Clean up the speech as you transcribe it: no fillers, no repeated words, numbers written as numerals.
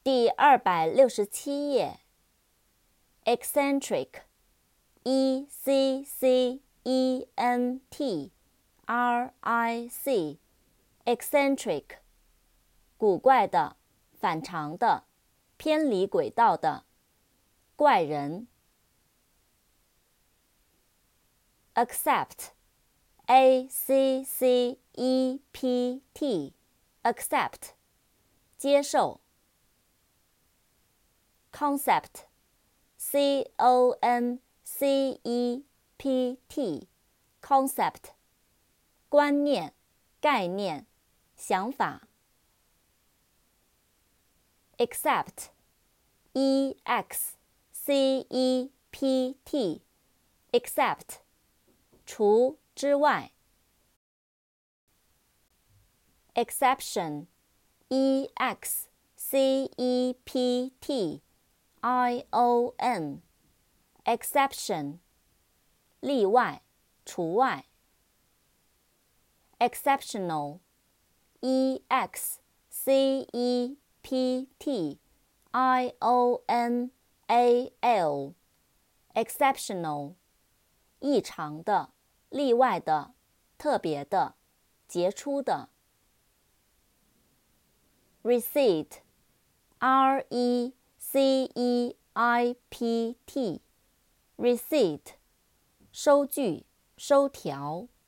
第267页 eccentric E-C-C-E-N-T-R-I-C eccentric 古怪的、反常的、偏离轨道的、怪人。accept A-C-C-E-P-T accept 接受。concept C-O-N-C-E-P-T concept 观念、概念、想法。except E-X-C-E-P-T except 除之外。exception E-X-C-E-P-T-I-O-N exception 例外、除外。exceptional E-X-C-E-P-T-I-O-N-A-L exceptional 异常的、例外的、特别的、杰出的。receipt R-E-C-E-I-P-T receipt 收据、收条。